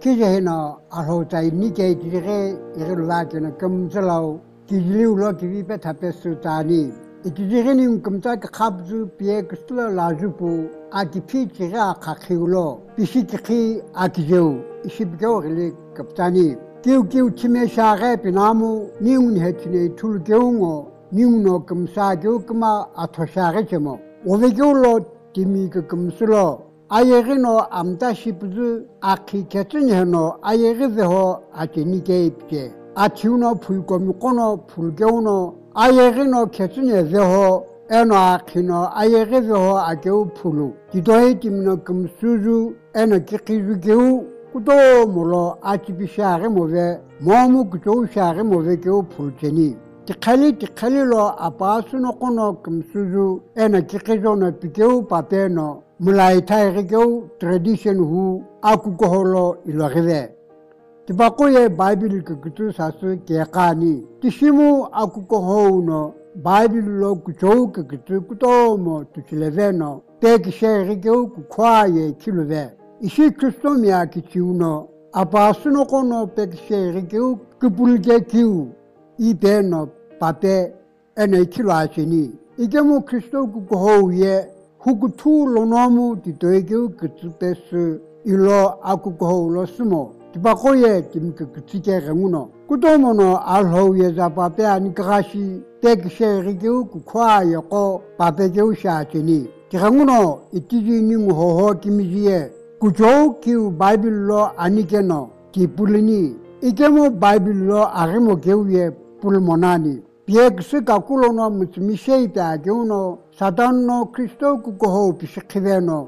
기재해나 알호자이 니게 기재해 이를 와기는 금슬로 기질로 기비베 답했을다니 기재해는 금자가 갑주 비에 그슬로 라주부 아기피지가 가키울로 비시키키 아기제우 20개월이 급자니 기우기우 치매샤게 비나무 니운해치네 툴게웅어 니운어 금사교 금아 아토샤게 제모 5개월로 디미그 금슬로 아예르노 암다시부즈 아키 개츠니노 아예르베호 아티니게 입제 아치우노 불고미코노 불게우노 아예르노 개츠니베호 에노 아키노 아예르베호 아게우 풀루 디도에 dim노 금수주 에노 기키주게우 kudo mulo achibishare move momu kudo share move ke pulcheni tikhali lo apasu no kono kumsuzu ena kikejo no pikeu papeno mulai thai ke tradition hu aku ko holo iloreve tibako ye bible ke kutu sasu ke kani tishimu aku ko ho no bible lo kujo ke kutu kudo mo tuchileveno tek share ke ku kwaye kilove Ishi Christomia kichiuno, apasuno kono peksheri kiu, kupulge kiu, ibeno, pape, ene kilachini. Igemo Christo kukohoye, hukutu lonomu titoekiu kutsupesu, ilo akukoho lo sumo. Tibakoye timke kutsike remuno. Kutomono alhoye za pape anikarashi, peksheri kiu kukwaye ko, pape kiu shachini. Tiranguno itiji ningu hoho kimijiye, kujo kiu Bible lo anikeno ki pulini ikemo Bible lo arimo keuye pulmonani piekse kakulo no mutmishe ta geuno satan no Kristo kukoho pishikiveno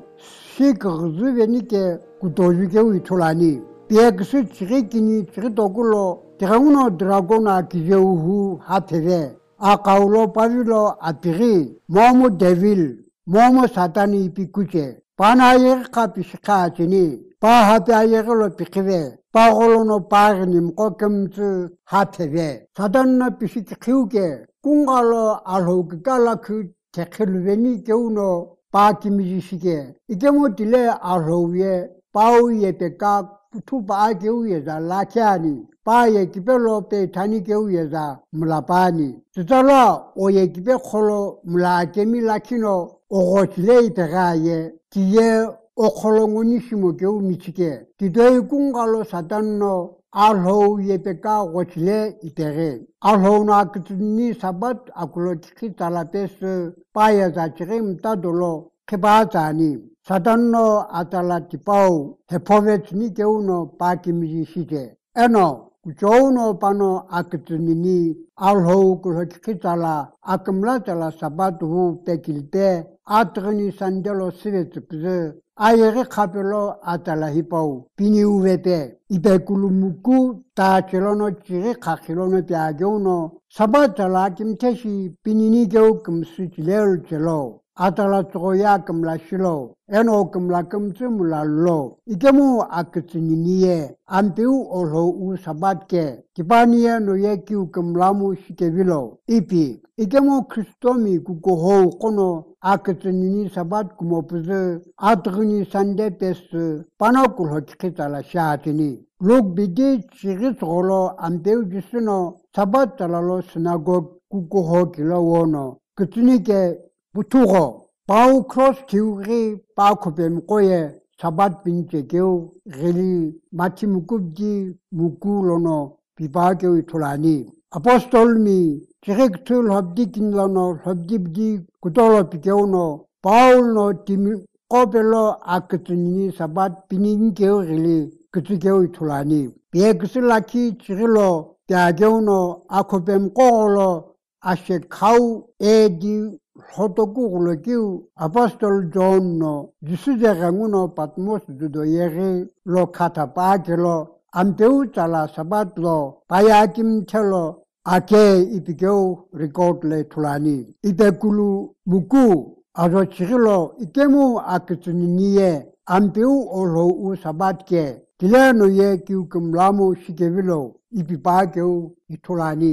sikrzvenike kutoju keu itolani piekse chirikini chiritokulo tiranguno dragona kijeuhu hateve akaulo pavilo atiri momo devil momo satani pikuche Panayer kapishka chini, pa hatayer lo pikive, pa golono parnim kokemzu hateve. Sadan na pishkiuke, kungalo alhogala ku tekhelveni keuno pa kimishike. Ikemo dile alhoye, pau ye peka putu pa keuye za lakiani, pa ye kipelo pe tani keuye za mulapani. Tutala oye kipe kholo mulakemi lakino, ogochile iperaye, Tiye okolongoni shimokeu michike. Tidoe kungalo satanno alho yepeka wochile itere. Alho na kituni sabat akulo kiki talapes paya zachire mtadolo kebazani. Satanno atala tipau hepovet ni keuno paki mishike. Eno kuchouno pano akitunini alho kulo kiki tala akamla tala sabat hu pekilte. Atrani sandelo sivetupze ayere kapelo atala hipau pini uvepe ipekulumuku ta chelono chire kakilono piageuno sabatala kimteshi pinini geu kumsuchilel chelo atala troya kumla shilo eno kumla kumtsumula lo ikemu akitsininiye ampiu olo u sabatke kipaniye no yekiu kumlamu shikevilo ipi ikemu kristomi kukoho kono akitsinini sabat kumopuze atruni sande pes panakulo chikitala shaatini log bidi chirit rolo ampiu jisuno sabat talalo sinagog kukoho kilo wono kitsinike Buturo, Pau cross kiuri, Pau kopem koye, sabat pinche keu, reli, matimukubji, mukulono, pipakeu itulani. Apostol mi, direktul habdikin lono, habdibdi, kutolo pikeuno, Paul no timi, kopelo akitunini sabat pininkeu reli, kutukeu itulani. Piekusilaki chirilo, piageuno, akopem kolo, ashe kau edi, Hotokulo kiu Apostol John no Jisujaranguno Patmos dudoyere lo katapakelo ampeu tala sabat lo payakim chelo ake ipikeu record le tulani itekulu buku azo chirilo ikemu akituniye ampeu olo u sabat ke tilano ye kiu kumlamo shikevilo ipipakeu itulani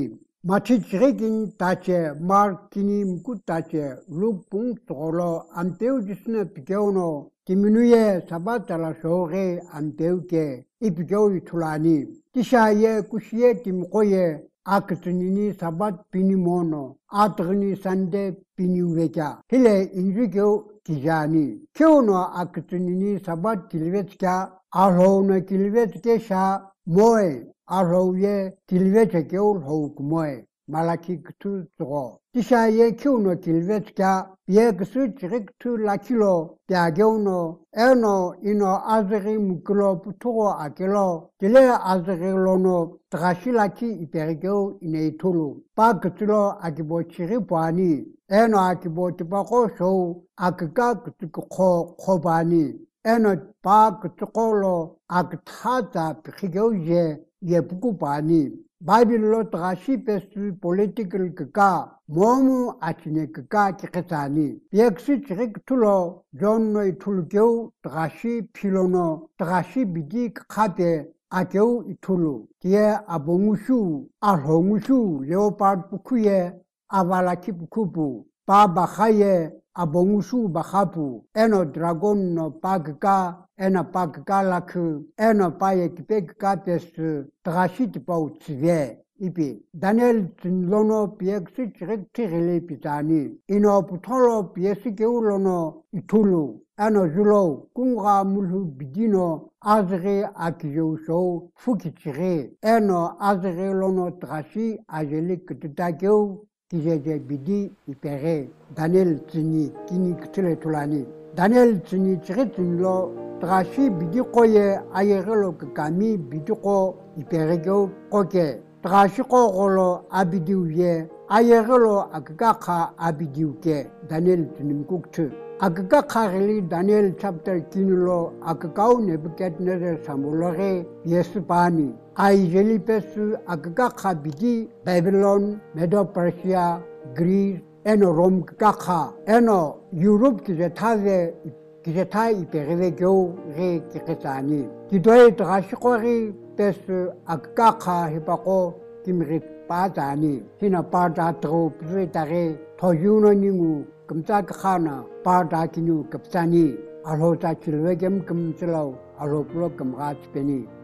마치 지레긴 다체 마르키니 묵고 다체 룩붕 토로 안테우지스나 비교노 디미누에 사바탈라 쇼게 안테우게 이비교이 툴라니 티샤예 쿠시에 팀코예 아크트니니 사bat 비니모노 아트그니 산데 비니우베자 힐레 인주교 기자니 쿄노 아크트니니 사bat 길베츠카 아로나 길베츠케샤 모에 아로예 길베츠케올 호우쿠모에 말라키 크투 쪼고 티샤예 쿄노 길베츠카 비에크스 지릭투 라킬로 야교노 에노 이노 아즈리 무클로 푸토고 아켈로 딜레 아즈리로노 드라실라키 이페르교 이네이툴루 파크투로 아키보치리 보아니 에노 아키보티바고 쇼 아크가 그투코 코바니 에노 파크투콜로 아크타자 피기오제 예부쿠바니 바빌로 드라시 페스 폴리티컬 그가 모무 아치네 그가 키케타니 비엑스 치릭툴로 존노이 툴교 드라시 필로노 드라시 비디 카데 아교 이툴루 디에 아봉우슈 아홍우슈 레오파드 부쿠예 아발라키 부쿠부 바바하예 아봉우슈 바하부 에노 드라곤노 파그가 에나 파그가라크 에노 파예 키페가 테스 드라시 티파우 츠베 이비 다니엘 진로노 비엑스 치릭티레레 피타니 이노 부톨로 비에스 게울로노 이툴루 에노 줄로 꿍가 물후 비디노 아즈레 아키조쇼 푸키치레 에노 아즈레로노 드라시 아젤릭 트타교 기제제 비디 이페레 다니엘 진이 기니 크트레 툴라니 다니엘 진이 치레진로 드라시 비디 코예 아예글로 까미 비디코 이페레교 코게 드라시 코골로 아비디우예 아예글로 아그가카 아비디우게 다니엘 진님 국트 아그가 카rel이 다니엘 챕터 기눌로 아그가우 네부갓네르 사물로게 예스바니 아이젤리페스 아그가 카비디 바빌론 메도퍼시아 그리스 에노 롬 카카 에노 유럽 기제타제 기제타이 베레베교 레 키케타니 디도에 드라시코리 페스 아그가 카 히바코 김리 빠자니 히나 빠자트로 프레타레 토유노니무 금자카나 바다키뉴 급사니 알호자 칠웨겜 금슬라우 알호플로 금가치페니